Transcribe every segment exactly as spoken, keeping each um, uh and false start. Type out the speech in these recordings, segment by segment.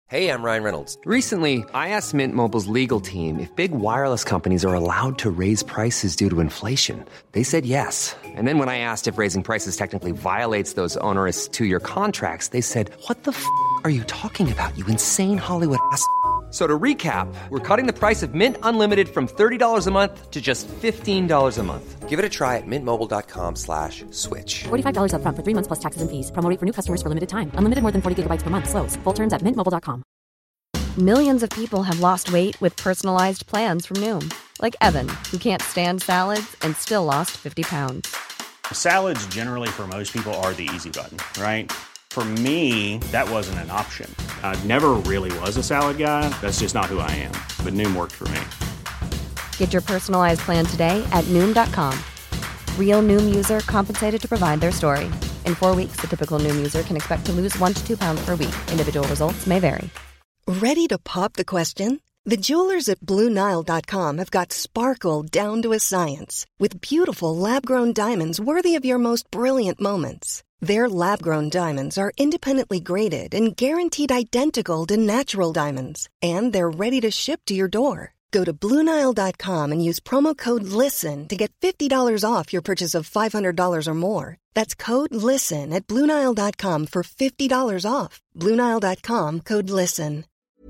Hey, I'm Ryan Reynolds. Recently, I asked Mint Mobile's legal team if big wireless companies are allowed to raise prices due to inflation. They said yes. And then when I asked if raising prices technically violates those onerous two-year contracts, they said, "What the f*** are you talking about, you insane Hollywood ass?" So to recap, we're cutting the price of Mint Unlimited from thirty dollars a month to just fifteen dollars a month. Give it a try at mintmobile.com slash switch. forty-five dollars up front for three months plus taxes and fees. Promo rate for new customers for limited time. Unlimited more than forty gigabytes per month. Slows full terms at mint mobile dot com. Millions of people have lost weight with personalized plans from Noom. Like Evan, who can't stand salads and still lost fifty pounds. Salads generally for most people are the easy button, right? For me, that wasn't an option. I never really was a salad guy. That's just not who I am. But Noom worked for me. Get your personalized plan today at Noom dot com. Real Noom user compensated to provide their story. In four weeks, the typical Noom user can expect to lose one to two pounds per week. Individual results may vary. Ready to pop the question? The jewelers at Blue Nile dot com have got sparkle down to a science with beautiful lab-grown diamonds worthy of your most brilliant moments. Their lab-grown diamonds are independently graded and guaranteed identical to natural diamonds, and they're ready to ship to your door. Go to Blue Nile dot com and use promo code LISTEN to get fifty dollars off your purchase of five hundred dollars or more. That's code LISTEN at Blue Nile dot com for fifty dollars off. Blue Nile dot com, code LISTEN.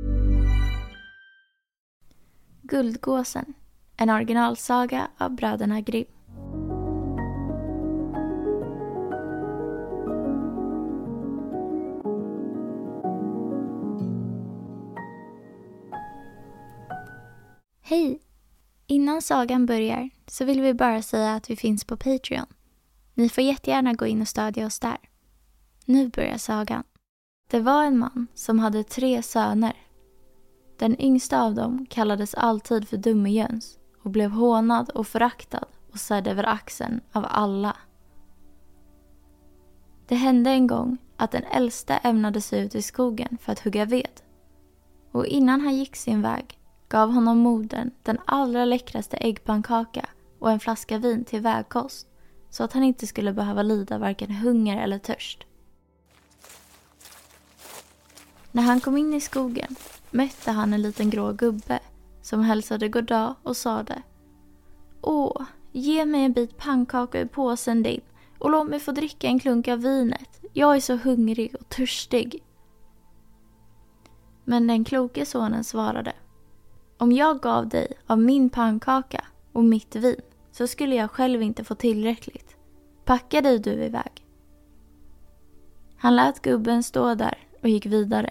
Guldgåsen, en originalsaga av bröderna Grimm. Hej! Innan sagan börjar så vill vi bara säga att vi finns på Patreon. Ni får jättegärna gå in och stödja oss där. Nu börjar sagan. Det var en man som hade tre söner. Den yngsta av dem kallades alltid för Dummejöns och blev hånad och föraktad och sedd över axeln av alla. Det hände en gång att den äldste ämnade sig ut i skogen för att hugga ved. Och innan han gick sin väg gav honom modern den allra läckraste äggpannkaka och en flaska vin till vägkost så att han inte skulle behöva lida varken hunger eller törst. När han kom in i skogen mötte han en liten grå gubbe som hälsade goddag och sade: "Åh, ge mig en bit pannkaka i påsen din och låt mig få dricka en klunk av vinet. Jag är så hungrig och törstig." Men den kloke sonen svarade: "Om jag gav dig av min pannkaka och mitt vin så skulle jag själv inte få tillräckligt. Packa dig du iväg." Han lät gubben stå där och gick vidare.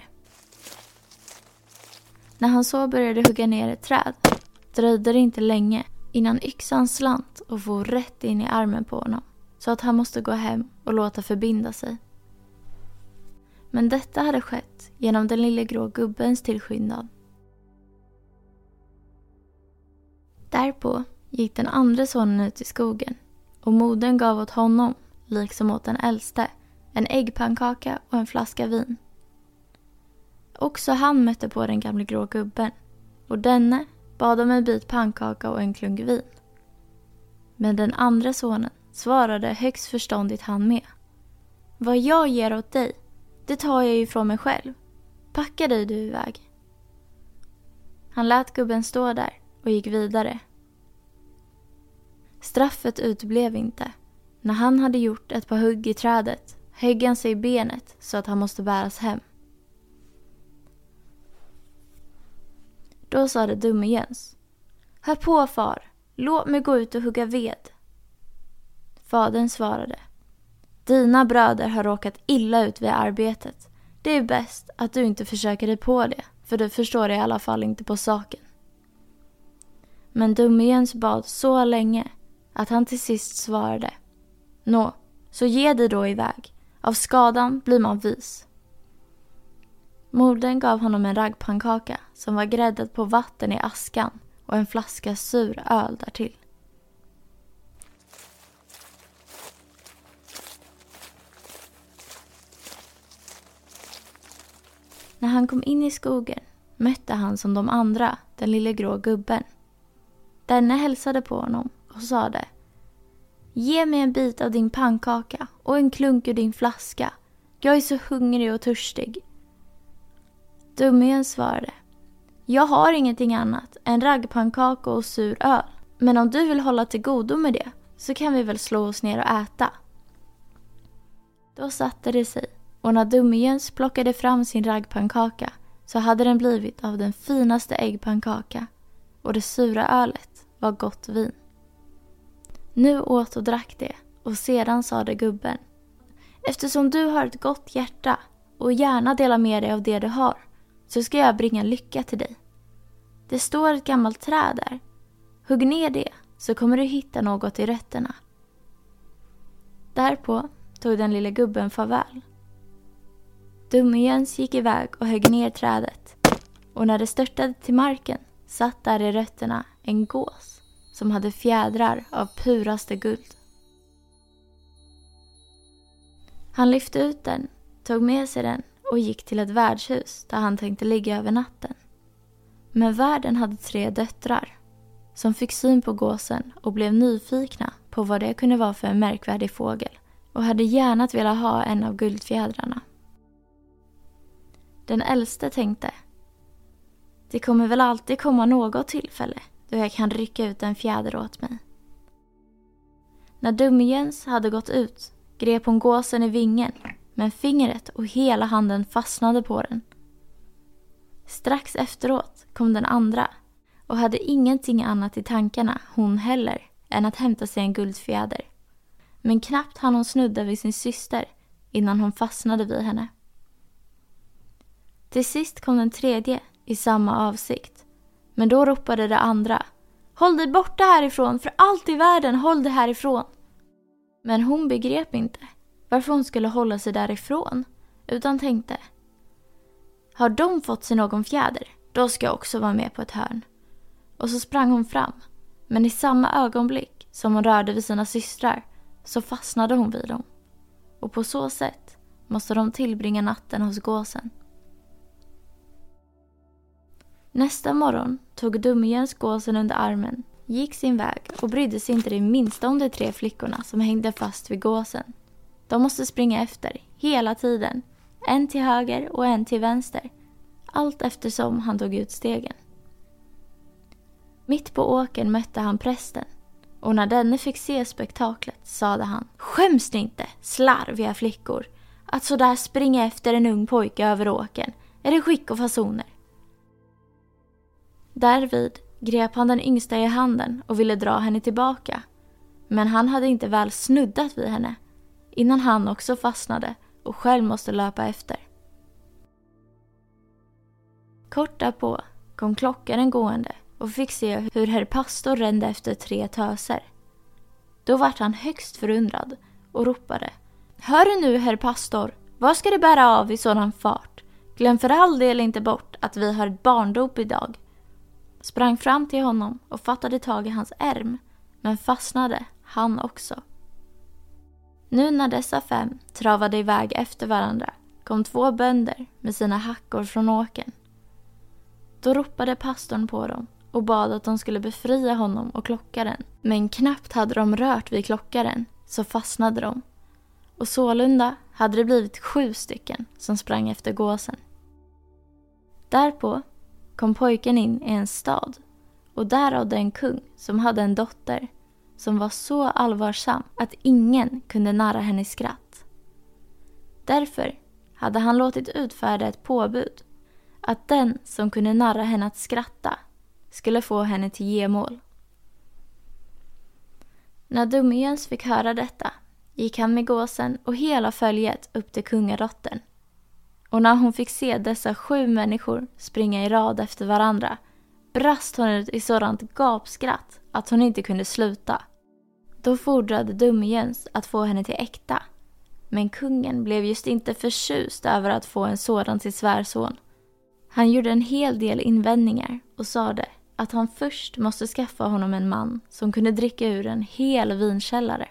När han så började hugga ner ett träd dröjde det inte länge innan yxan slant och for rätt in i armen på honom så att han måste gå hem och låta förbinda sig. Men detta hade skett genom den lilla grå gubbens tillskyndan. Därpå gick den andra sonen ut i skogen och modern gav åt honom, liksom åt den äldste, en äggpannkaka och en flaska vin. Också han mötte på den gamla grå gubben och denne bad om en bit pannkaka och en klunk vin. Men den andra sonen svarade högst förståndigt han med: "Vad jag ger åt dig, det tar jag ju från mig själv. Packa dig du iväg." Han lät gubben stå där och gick vidare. Straffet utblev inte. När han hade gjort ett par hugg i trädet högg han sig i benet så att han måste bäras hem. Då sa det dumme Jöns: "Hör på far, låt mig gå ut och hugga ved." Fadern svarade: "Dina bröder har råkat illa ut vid arbetet. Det är bäst att du inte försöker dig på det, för du förstår i alla fall inte på saken." Men dumme Jöns bad så länge att han till sist svarade: "Nå, så ge dig då iväg. Av skadan blir man vis." Modern gav honom en raggpannkaka som var gräddad på vatten i askan och en flaska sur öl därtill. När han kom in i skogen mötte han som de andra den lilla grå gubben. Denne hälsade på honom och sade: "Ge mig en bit av din pannkaka och en klunk ur din flaska. Jag är så hungrig och törstig." Dummejöns svarade: jag har ingenting annat än raggpannkaka och sur öl. Men om du vill hålla till godo med det så kan vi väl slå oss ner och äta. Då satte det sig, och när Dummejöns plockade fram sin raggpannkaka så hade den blivit av den finaste äggpannkaka, och det sura ölet var gott vin. Nu åt och drack det, och sedan sade gubben: eftersom du har ett gott hjärta och gärna delar med dig av det du har, så ska jag bringa lycka till dig. Det står ett gammalt träd där. Hugg ner det, så kommer du hitta något i rötterna. Därpå tog den lilla gubben farväl. Dummejöns gick iväg och högg ner trädet, och när det störtade till marken satt där i rötterna en gås som hade fjädrar av puraste guld. Han lyfte ut den, tog med sig den och gick till ett värdshus där han tänkte ligga över natten. Men värden hade tre döttrar som fick syn på gåsen och blev nyfikna på vad det kunde vara för en märkvärdig fågel och hade gärna velat ha en av guldfjädrarna. Den äldste tänkte: det kommer väl alltid komma något tillfälle då jag kan rycka ut en fjäder åt mig. När Dummejöns hade gått ut grep hon gåsen i vingen, men fingret och hela handen fastnade på den. Strax efteråt kom den andra och hade ingenting annat i tankarna, hon heller, än att hämta sig en guldfjäder. Men knappt hann hon snudda vid sin syster innan hon fastnade vid henne. Till sist kom den tredje i samma avsikt, men då ropade det andra: håll dig borta härifrån, för allt i världen, håll dig härifrån. Men hon begrep inte varför hon skulle hålla sig därifrån, utan tänkte: har de fått sig någon fjäder, då ska jag också vara med på ett hörn. Och så sprang hon fram, men i samma ögonblick som hon rörde vid sina systrar så fastnade hon vid dem. Och på så sätt måste de tillbringa natten hos gåsen. Nästa morgon tog Dummejöns gåsen under armen, gick sin väg och brydde sig inte det minsta om de tre flickorna som hängde fast vid gåsen. De måste springa efter hela tiden, en till höger och en till vänster, allt eftersom han tog ut stegen. Mitt på åkern mötte han prästen, och när denne fick se spektaklet sade han: skäms ni inte, slarviga flickor, att så där springa efter en ung pojke över åkern? Är det skick och fasoner? Därvid grep han den yngsta i handen och ville dra henne tillbaka, men han hade inte väl snuddat vid henne innan han också fastnade och själv måste löpa efter. Kort därpå kom klockaren gående och fick se hur herr pastor rände efter tre töser. Då vart han högst förundrad och ropade: hör nu, herr pastor, vad ska det bära av i sådan fart? Glöm för all del inte bort att vi har ett barndop idag. Sprang fram till honom och fattade tag i hans ärm, men fastnade han också. Nu när dessa fem travade iväg efter varandra kom två bönder med sina hackor från åkern. Då ropade pastorn på dem och bad att de skulle befria honom och klockaren. Men knappt hade de rört vid klockaren så fastnade de. Och sålunda hade det blivit sju stycken som sprang efter gåsen. Därpå kom pojken in i en stad, och där rådde en kung som hade en dotter som var så allvarsam att ingen kunde narra henne i skratt. Därför hade han låtit utfärda ett påbud att den som kunde narra henne att skratta skulle få henne till gemål. När Dummejöns fick höra detta gick han med gåsen och hela följet upp till kungadottern. Och när hon fick se dessa sju människor springa i rad efter varandra brast hon ut i sådant gapskratt att hon inte kunde sluta. Då fordrade Dummejöns att få henne till äkta, men kungen blev just inte förtjust över att få en sådan till svärson. Han gjorde en hel del invändningar och sade att han först måste skaffa honom en man som kunde dricka ur en hel vinkällare.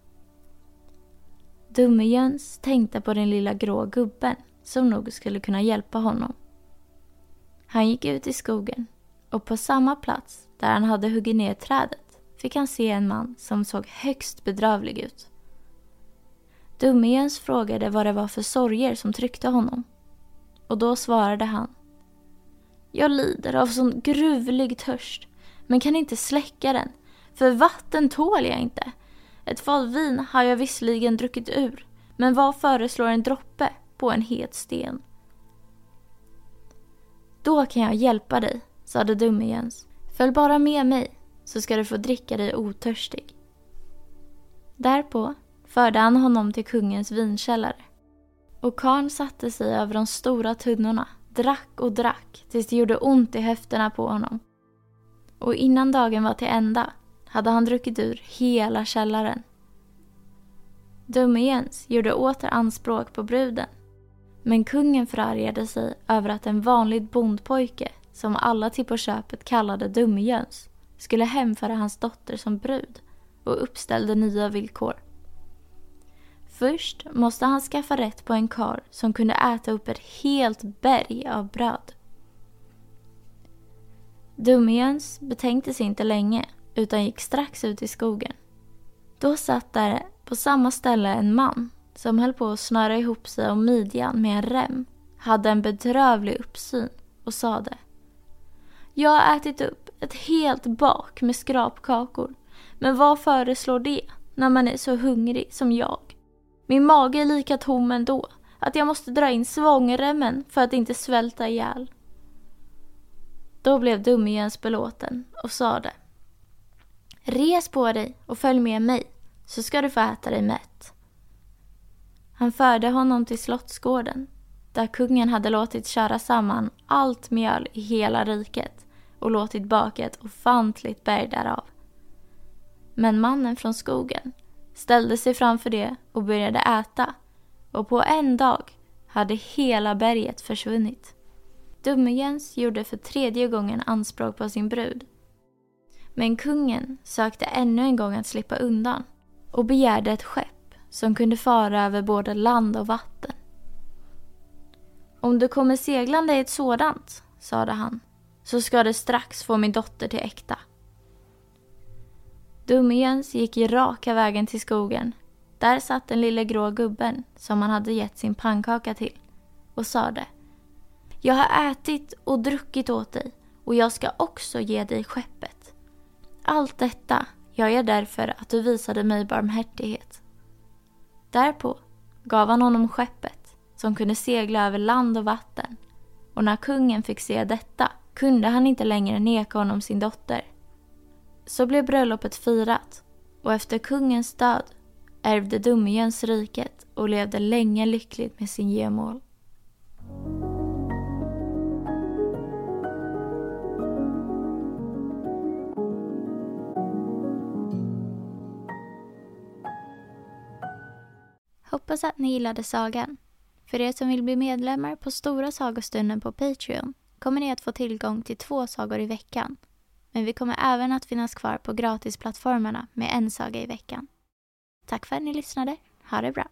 Dummejöns tänkte på den lilla grå gubben som nog skulle kunna hjälpa honom. Han gick ut i skogen, och på samma plats där han hade huggit ner trädet fick han se en man som såg högst bedrövlig ut. Dummejöns frågade vad det var för sorger som tryckte honom, och då svarade han Jag lider av sån gruvlig törst, men kan inte släcka den, för vatten tål jag inte. Ett fat vin har jag visserligen druckit ur, men vad föreslår en droppe på en het sten? Då kan jag hjälpa dig, sade dumme Jöns. Följ bara med mig, så ska du få dricka dig otörstig. Därpå förde han honom till kungens vinkällare. Och karln satte sig över de stora tunnorna, drack och drack tills det gjorde ont i höfterna på honom. Och innan dagen var till ända hade han druckit ur hela källaren. Dumme Jöns gjorde åter anspråk på bruden. Men kungen förargade sig över att en vanlig bondpojke, som alla till på köpet kallade Dumme Jöns, skulle hemföra hans dotter som brud och uppställde nya villkor. Först måste han skaffa rätt på en karl som kunde äta upp ett helt berg av bröd. Dumme Jöns betänkte sig inte länge utan gick strax ut i skogen. Då satt där på samma ställe en man som höll på att snöra ihop sig om midjan med en rem, hade en bedrövlig uppsyn och sade: Jag har ätit upp ett helt bak med skrapkakor, men vad föreslår det när man är så hungrig som jag? Min mage är lika tom ändå att jag måste dra in svångremmen för att inte svälta ihjäl. Då blev Dumme Jöns belåten och sade: Res på dig och följ med mig, så ska du få äta dig mätt. Han förde honom till slottsgården, där kungen hade låtit köra samman allt mjöl i hela riket och låtit baka ett ofantligt berg därav. Men mannen från skogen ställde sig framför det och började äta, och på en dag hade hela berget försvunnit. Dumme Jöns gjorde för tredje gången anspråk på sin brud. Men kungen sökte ännu en gång att slippa undan och begärde ett skepp som kunde fara över både land och vatten. Om du kommer seglande i ett sådant, sade han, så ska du strax få min dotter till äkta. Dumme Jöns gick i raka vägen till skogen. Där satt den lilla grå gubben som han hade gett sin pannkaka till och sade: Jag har ätit och druckit åt dig, och jag ska också ge dig skeppet. Allt detta gör jag därför att du visade mig barmhärtighet. Därpå gav han honom skeppet som kunde segla över land och vatten, och när kungen fick se detta kunde han inte längre neka honom sin dotter. Så blev bröllopet firat, och efter kungens död ärvde Dumme Jöns riket och levde länge lyckligt med sin gemål. Hoppas att ni gillade sagan. För er som vill bli medlemmar på Stora Sagostunden på Patreon kommer ni att få tillgång till två sagor i veckan. Men vi kommer även att finnas kvar på gratisplattformarna med en saga i veckan. Tack för att ni lyssnade. Ha det bra.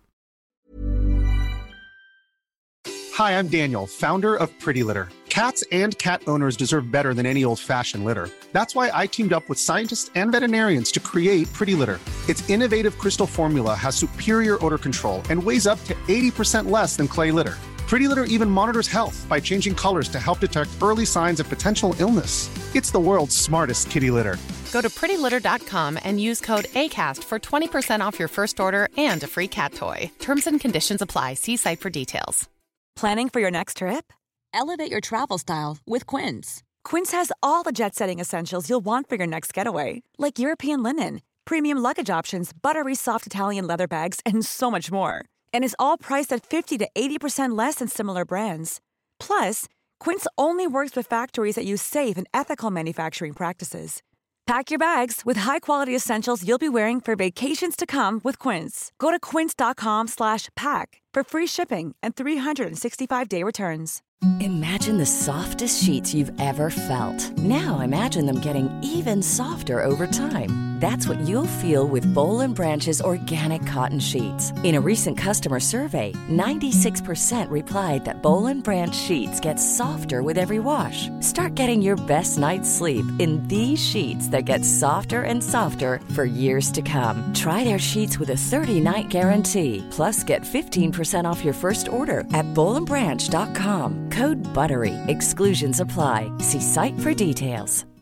Hi, I'm Daniel, founder of Pretty Litter. Cats and cat owners deserve better than any old-fashioned litter. That's why I teamed up with scientists and veterinarians to create Pretty Litter. Its innovative crystal formula has superior odor control and weighs up to eighty percent less than clay litter. Pretty Litter even monitors health by changing colors to help detect early signs of potential illness. It's the world's smartest kitty litter. Go to pretty litter dot com and use code ACAST for twenty percent off your first order and a free cat toy. Terms and conditions apply. See site for details. Planning for your next trip? Elevate your travel style with Quince. Quince has all the jet-setting essentials you'll want for your next getaway, like European linen, premium luggage options, buttery soft Italian leather bags, and so much more. And is all priced at fifty to eighty percent less than similar brands. Plus, Quince only works with factories that use safe and ethical manufacturing practices. Pack your bags with high-quality essentials you'll be wearing for vacations to come with Quince. Go to quince dot com slash pack for free shipping and three sixty-five day returns. Imagine the softest sheets you've ever felt. Now imagine them getting even softer over time. That's what you'll feel with Bowl and Branch's organic cotton sheets. In a recent customer survey, ninety-six percent replied that Bowl and Branch sheets get softer with every wash. Start getting your best night's sleep in these sheets that get softer and softer for years to come. Try their sheets with a thirty-night guarantee. Plus, get fifteen percent off your first order at bowl and branch dot com. Code BUTTERY. Exclusions apply. See site for details.